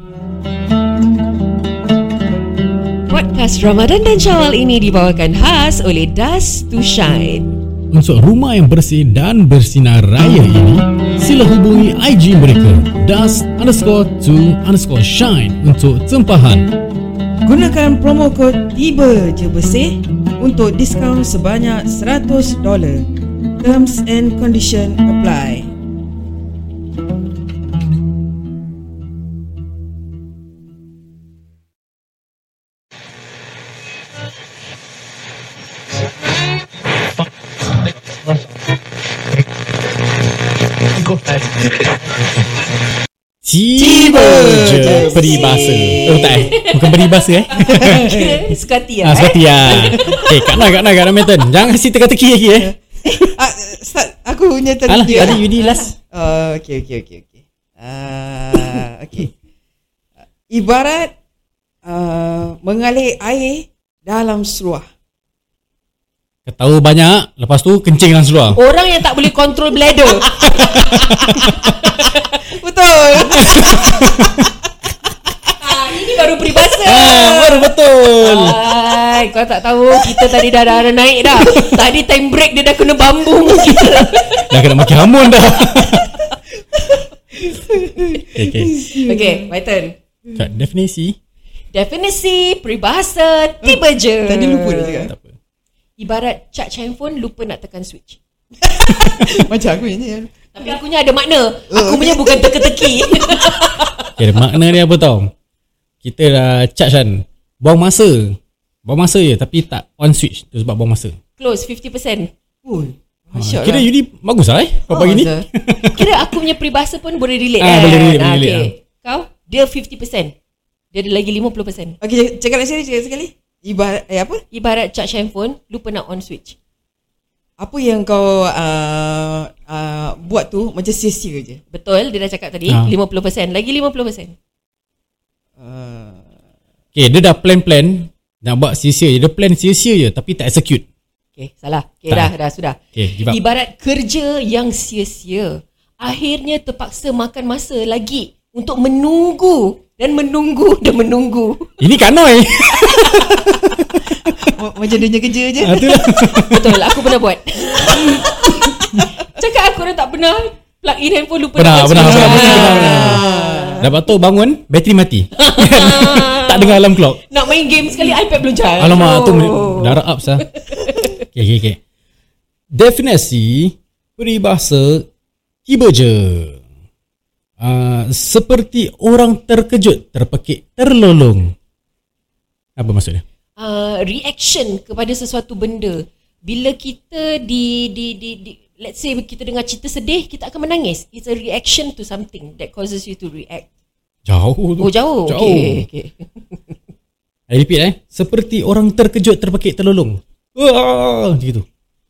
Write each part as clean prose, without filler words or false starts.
Podcast Ramadan dan Syawal ini dibawakan khas oleh Dust to Shine. Untuk rumah yang bersih dan bersinar raya ini, sila hubungi IG mereka dust_to_shine untuk tempahan. Gunakan promo kod Tiba Je Bersih untuk diskaun sebanyak $100. Terms and condition apply. Tiba je peribahasa. Oh tak bukan peribahasa Sekati Sekati Kak Nak Meton. Jangan kasi teka-teki lagi Start aku punya tadi. Alah tadi Yudi last. Okay. Ibarat mengalir air dalam seluar. Ketahu banyak, lepas tu kencing dalam seluar. Orang yang tak boleh kontrol bladder. Betul. Ini baru peribahasa. Baru betul. Kau tak tahu kita tadi dah naik dah. Tadi time break dia dah kena bambung kita. Dah kena makin hamun dah. Okay, my turn. Kat definisi peribahasa tiba je. Tadi lupa dah cakap. tak apa. Ibarat charge handphone lupa nak tekan switch. Macam aku ni. Tapi akunya ada makna. Aku punya bukan teka-teki. Okay, makna dia apa tau? Kita dah charge kan, buang masa je tapi tak on switch. Tu sebab buang masa. Close 50%. Masya Kira Allah. Yudi bagus lah pagi ni. Kira aku punya peribahasa pun boleh relate Boleh relate. okay. Kau dia 50%. Dia ada lagi 50%. Okay, cakap sekali. Ibarat apa? Ibarat charge handphone lupa nak on switch. Apa yang kau buat tu macam sia-sia je. Betul, dia dah cakap tadi 50%, lagi 50%. Okay, dia dah plan nak buat sia-sia je. Dia plan sia-sia je tapi tak execute. Okay, salah. Okay, dah sudah. Okay, give up. Ibarat kerja yang sia-sia, akhirnya terpaksa makan masa lagi untuk menunggu. Ini kanoi. Macam dia kerja je. Betul, aku pernah buat. Cakap aku orang tak pernah plug in handphone lupa Pernah. Dah Dapat tu bangun, bateri mati. Tak dengar alarm clock. nak main game sekali, iPad belum charge. Alamak, tu darah up sah. Okay. Definisi peribahasa tiba je. Seperti orang terkejut, terpekik, terlolong. Apa maksudnya? Reaction kepada sesuatu benda. Bila kita let's say kita dengar cerita sedih, kita akan menangis. It's a reaction to something that causes you to react. Jauh tu. Oh, jauh. Okay. I repeat seperti orang terkejut, terpekik, terlolong. Gitu.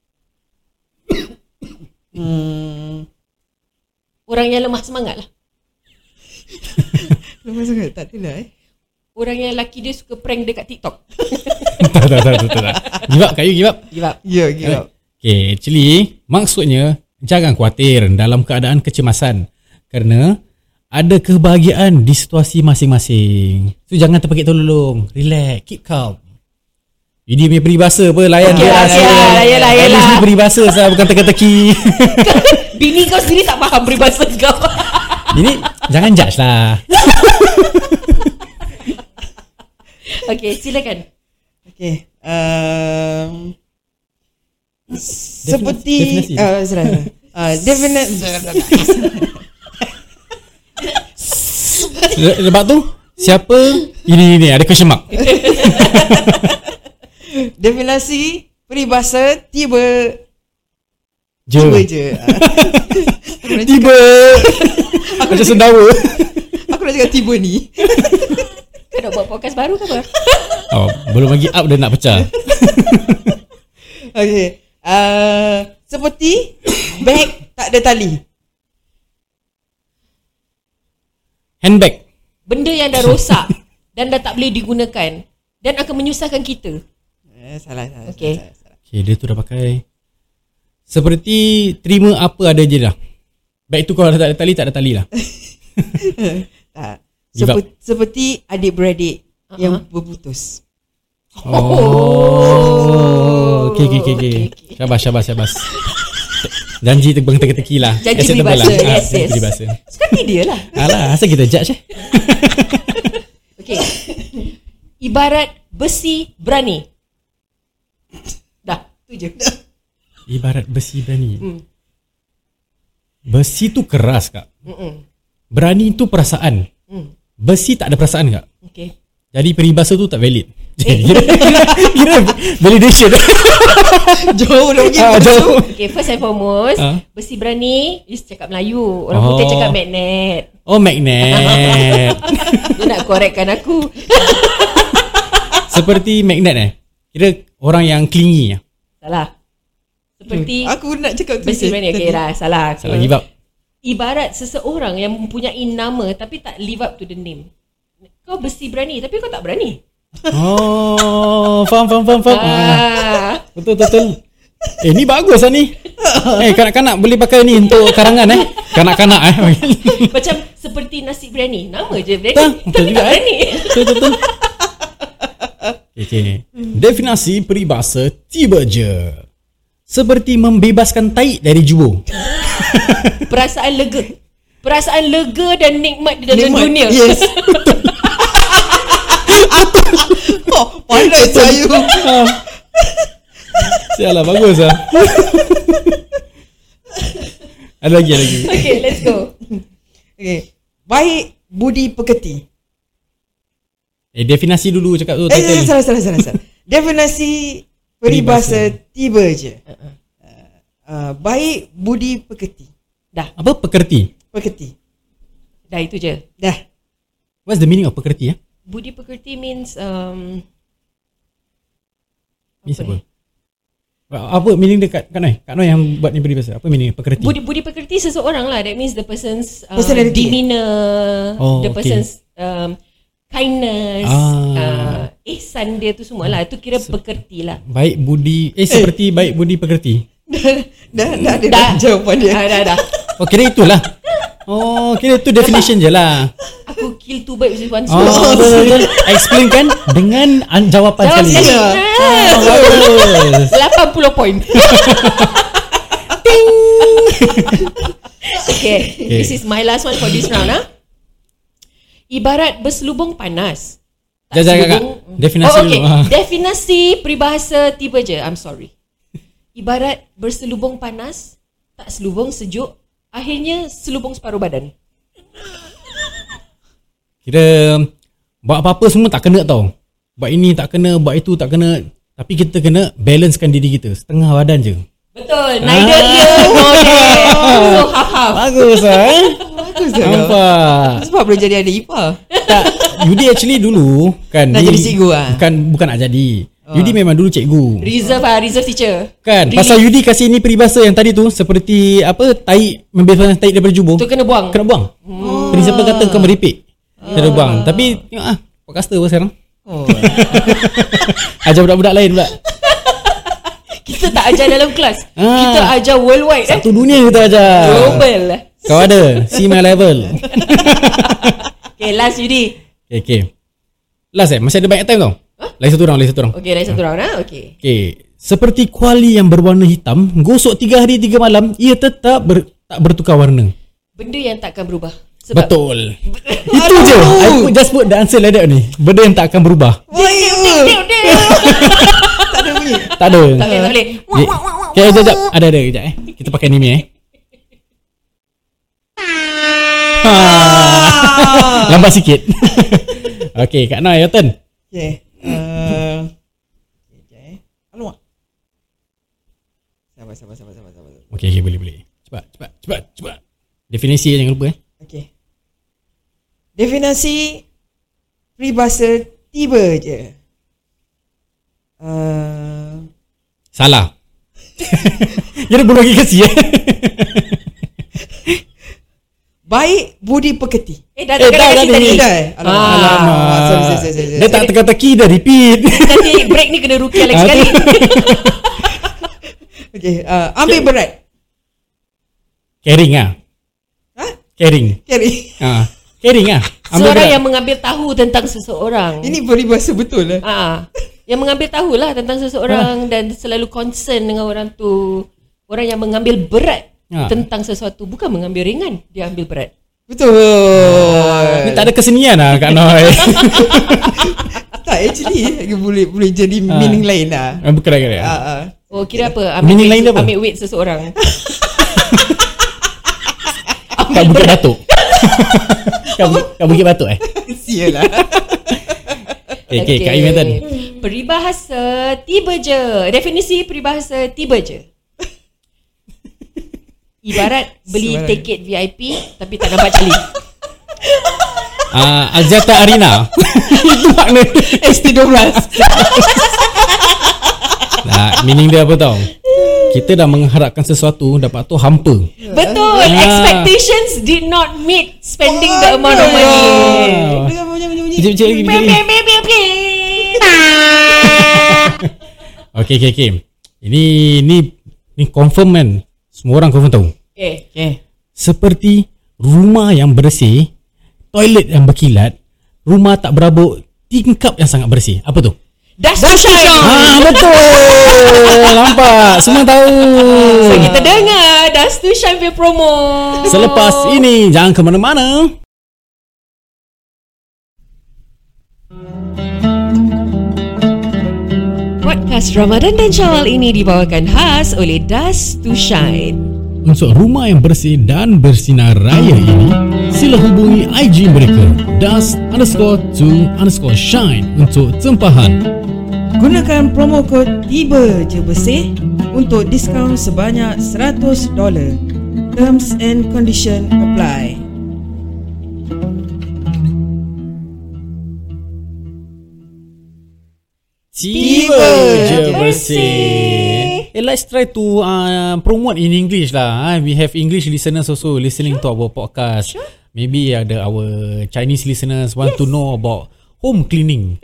Orang yang lemah semangat lah. Lemah sangat tak adalah Orang yang lelaki dia suka prank dekat TikTok. Tak. Give up, kayu give up. Ya, give up. Okay, actually maksudnya jangan khawatir dalam keadaan kecemasan kerana ada kebahagiaan di situasi masing-masing. So jangan terpekik terlolong. Relax, keep calm. Ini punya peribahasa apa, layan Okay, dia. yalah. Ini peribahasa sah, bukan teka-teki. Bini kau sendiri tak faham peribahasa kau. Ini jangan judge lah. Okay, silakan. Okay. Seperti Lepas tu siapa? Ini ada question mark. definisi peribahasa tiba je. Tiba. Macam sendawa. Aku nak cakap tiba ni. Kau nak buat podcast baru ke apa? Belum lagi up dah nak pecah. Okay. Seperti beg tak ada tali. Handbag. Benda yang dah rosak dan dah tak boleh digunakan dan akan menyusahkan kita. Salah. Okay. Okay, dia tu dah pakai. Seperti terima apa ada je dah. Bag tu kalau tak ada tali, tak ada tali lah. Tak. Give up. Seperti adik-beradik yang berputus. Okay. Syabas. Janji terbang teki-teki lah. Janji peribahasa. Yes. Peribahasa. Sekali dia lah. Alah, asal kita judge Okay. Ibarat besi berani. Dah, tu je. Ibarat besi berani. Besi tu keras, Kak. Berani tu perasaan. Besi tak ada perasaan, Kak. Okay. Jadi peribahasa tu tak valid. Kira validation. Jauh dah pergi. Jauh. Okay, first and foremost, besi berani is cakap Melayu. Orang putih cakap magnet. Oh, magnet. Dia nak correctkan aku. Seperti magnet Kira orang yang clingy. Salah. Seperti Aku nak cakap tu. besi berani. Okay lah, salah. Salah, give up. Ibarat seseorang yang mempunyai nama tapi tak live up to the name. Kau besi berani tapi kau tak berani. Oh, faham. Betul. Ni bagus lah ni. Kanak-kanak boleh pakai ni untuk karangan Kanak-kanak Macam seperti nasi biryani. Nama je biryani Betul tapi juga, tak berani. Betul. Okay. Definisi peribahasa tiba je. Seperti membebaskan tahi dari jubur. Perasaan lega dan nikmat di dalam dunia. Yes. Pandai saya. Sialah, bagus lah. Ada lagi. Okay, let's go. Okay. Baik budi pekerti. Definisi dulu cakap tu title. Salah. Definisi peribahasa tiba je. Baik budi pekerti. Dah. Apa pekerti? Pekerti. Dah itu je. Dah. What's the meaning of pekerti? Budi pekerti means Means apa? Apa meaning dekat Kak Noi yang buat ni peribahasa? Apa meaning pekerti? Budi pekerti seseorang lah. That means the person's Personality. demeanor, the Okay. person's kindness, ihsan dia tu semua lah. Itu kira pekerti lah. Baik budi seperti baik budi pekerti. Dah ada jawapan dia. Dah. Oh, kira itulah. Oh, kira itu definition je lah. Aku kill two birds with one Oh, stone. betul. Explain kan dengan jawapan sekali. Bagus. 80 point. Okay, this is my last one for this round. Ibarat berselubung panas. Jangan, Kak. Definasi dulu. Definisi peribahasa tiba je. I'm sorry. Ibarat berselubung panas, tak selubung sejuk, akhirnya selubung separuh badan. Kira buat apa-apa semua tak kena tau. Buat ini tak kena, buat itu tak kena. Tapi kita kena balancekan diri kita. Setengah badan je. Betul. Neither here nor there. So half-half. Bagus lah Bagus lah. Nampak. Sebab boleh jadi adik ipar. Tak, Yudi actually dulu kan Nak jadi cikgu lah? Bukan nak jadi. Yudi memang dulu cikgu. Reserve teacher. Kan, Really? pasal Yudi kasih ni peribahasa yang tadi tu seperti apa, tai membebaskan tai daripada jubur. Tu kena buang. Kena buang. Principal kata kau meripik. Kena buang. Tapi tengok podcaster pun sekarang. Ajar budak-budak lain pula. Kita tak ajar dalam kelas. Kita ajar worldwide. Satu dunia kita ajar. Global. Kau ada, see my level. Okay, last Yudi. Okay. Last masih ada banyak time tau. Lagi satu round. Okay, last satu round. Okay. Okay. Seperti kuali yang berwarna hitam, gosok 3 hari 3 malam, ia tetap tak bertukar warna. Benda yang takkan berubah. Sebab Betul. Itu je. I just put the answer like that ni. Benda yang tak akan berubah. Tak ada bunyi. Tak ada. Tak boleh. Okay, sekejap. Ada. Sekejap Kita pakai ni Lambat sikit. Okay, Kak Noi, your turn. Okay. Alamak. Sabar. Okay, boleh. Cepat. Definisi jangan lupa. Okay. Definisi peribahasa tiba je. Salah. Kira belum lagi kasi Baik budi pekerti. Dah kasi tadi. Alamak. Sorry. Dia tak teka-teki, dah repeat. Nanti break ni kena rukiah lagi sekali. Okay. Ambil berat. Caring lah. Ha? Caring. Carry. Caring lah. Seorang yang mengambil tahu tentang seseorang. Ini peribahasa betul lah. Yang mengambil tahu lah tentang seseorang dan selalu concern dengan orang tu. Orang yang mengambil berat tentang sesuatu, bukan mengambil ringan, dia ambil berat. Betul. Ni tak ada kesenian lah Kak Noi. Tak, actually boleh jadi meaning lain lah. Bukan. Oh, kira apa? Meaning lain dia apa? Ambil weight seseorang. Kat Bukit Batuk. Kat Bukit Batuk Sialah. Okay, Kak Im kata. Peribahasa tiba je. Definisi peribahasa tiba je. Ibarat beli tiket VIP tapi tak nampak cali. Aziata Arena. Itu makna ST12. Meaning dia apa tau? Kita dah mengharapkan sesuatu, dapat tu hampa. Betul. Expectations did not meet spending the amount of money. Kejap lagi. Okay. Ini confirm kan? Semua orang confirm tahu. Okay. Seperti rumah yang bersih, toilet yang berkilat, rumah tak berabuk, tingkap yang sangat bersih. Apa tu? Dust to shine. Betul. Nampak? Semua tahu. So kita dengar Dust to Shine punya promo. Selepas ini jangan ke mana-mana. Podcast Ramadan dan Syawal ini dibawakan khas oleh Dust to Shine. Untuk rumah yang bersih dan bersinar raya ini, sila hubungi IG mereka dust_to_shine untuk tempahan. Gunakan promo kod Tiba Je Bersih untuk diskaun sebanyak $100. Terms and condition apply. Tiba Je Bersih. Let's try to promote in English lah. We have English listeners also listening to our podcast. Maybe ada our Chinese listeners want to know about home cleaning.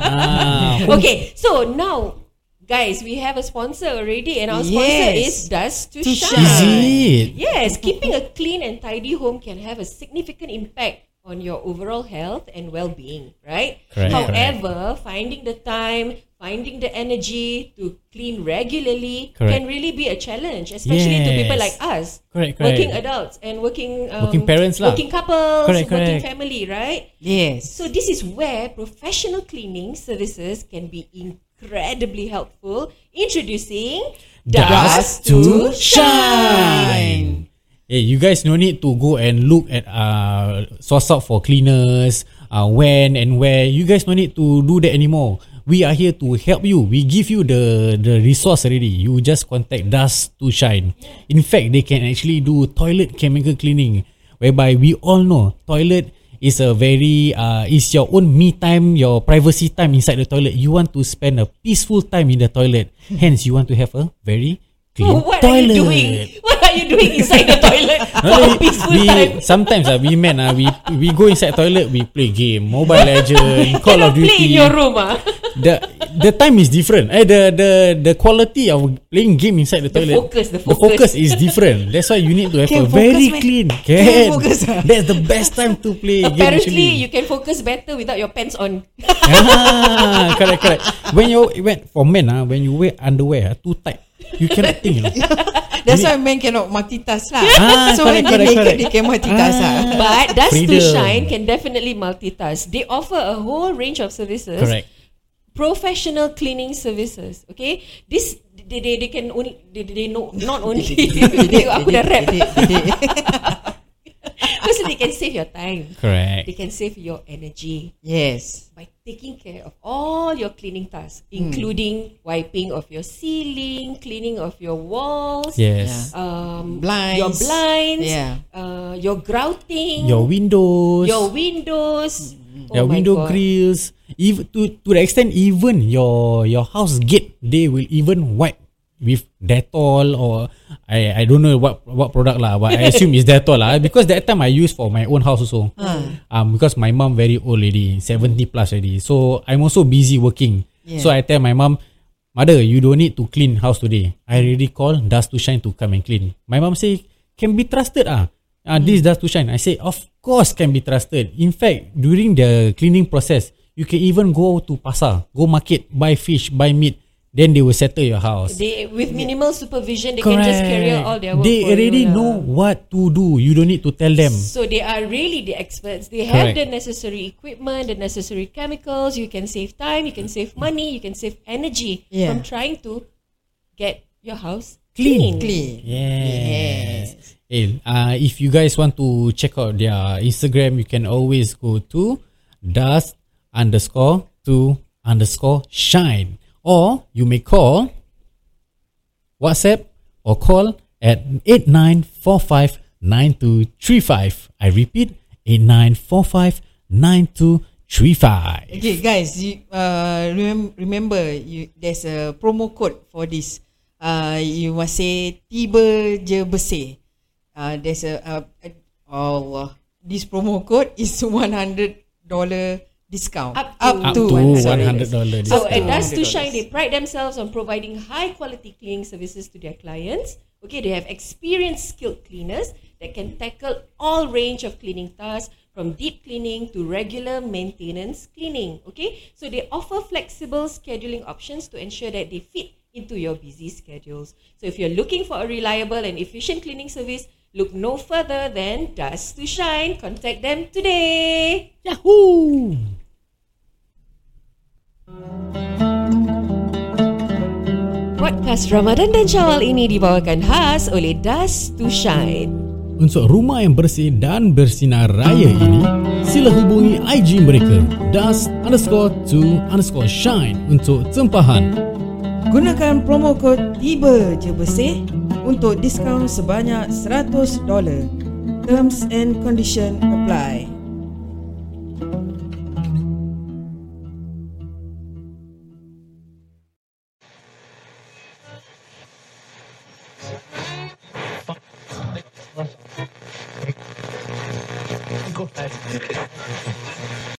Okay, so now guys, we have a sponsor already, and our sponsor is Dust to Shine. Is it? Yes, keeping a clean and tidy home can have a significant impact on your overall health and well-being, right? Correct. However, finding the time, finding the energy to clean regularly can really be a challenge, especially to people like us, working adults and working parents lah, working couples, working correct. family, right? Yes. So this is where professional cleaning services can be incredibly helpful. Introducing Dust to Shine. Hey, you guys no need to go and look at source out for cleaners, when and where. You guys no need to do that anymore. We are here to help you. We give you the resource already. You just contact Dust to Shine. In fact, they can actually do toilet chemical cleaning, whereby we all know toilet is a very is your own me time, your privacy time inside the toilet. You want to spend a peaceful time in the toilet. Hence, you want to have a very clean what toilet. are you doing? What are you doing inside the toilet for a peaceful time? Sometimes we we go inside toilet, we play game, Mobile Legends, Call of Duty. Play in your room, The time is different. The quality of playing game inside the toilet. The focus is different. That's why you need to have a very clean. That's the best time to play game. Apparently, you can focus better without your pants on. Correct. When for men, when you wear underwear too tight, you cannot think. That's why men cannot multitask lah. So when correct. they naked, they can multitask lah. But Dust to Freedom. Shine can definitely multitask. They offer a whole range of services. Correct. Professional cleaning services. Okay, this they can only they know not only. Aku dah rap. First, they can save your time. Correct. They can save your energy. Yes. By taking care of all your cleaning tasks, including wiping of your ceiling, cleaning of your walls, Yes. Blinds. your blinds, Yeah. your grouting, Your windows. your windows, Your my window God. grills, even to the extent even your house gate, they will even wipe with Dettol or I don't know what product lah, but I assume it's Dettol lah, because that time I use for my own house also. Because my mom very old already, 70 plus already, so I'm also busy working. So I tell my mom, mother, you don't need to clean house today. I already call Dust to Shine to come and clean. My mom say, can be trusted This Dust to Shine. I say, of course can be trusted. In fact, during the cleaning process, you can even go to pasar, go market, buy fish, buy meat. Then they will settle your house. With minimal supervision, they can just carry out all their work. They for already you know what to do. You don't need to tell them. So they are really the experts. They have Correct. the necessary equipment, the necessary chemicals. You can save time, you can save money, you can save energy from trying to get your house clean. Yes. Hey, if you guys want to check out their Instagram, you can always go to dust_to_shine. Or you may call, WhatsApp or call at 89459235. I repeat, 89459235. Okay guys, remember there's a promo code for this. You must say tiba je bersih. There's Allah. This promo code is $100 discount. Up to $100. So at Dust to Shine, they pride themselves on providing high quality cleaning services to their clients. Okay, they have experienced skilled cleaners that can tackle all range of cleaning tasks, from deep cleaning to regular maintenance cleaning. Okay, so they offer flexible scheduling options to ensure that they fit into your busy schedules. So if you're looking for a reliable and efficient cleaning service, look no further than Dust to Shine. Contact them today. Yahoo! Podcast Ramadan dan Syawal ini dibawakan khas oleh Dust to Shine. Untuk rumah yang bersih dan bersinar raya ini, sila hubungi IG mereka dust_to_shine untuk tempahan. Gunakan promo kod tiba je bersih untuk diskaun sebanyak $100. Terms and condition apply. Go ahead.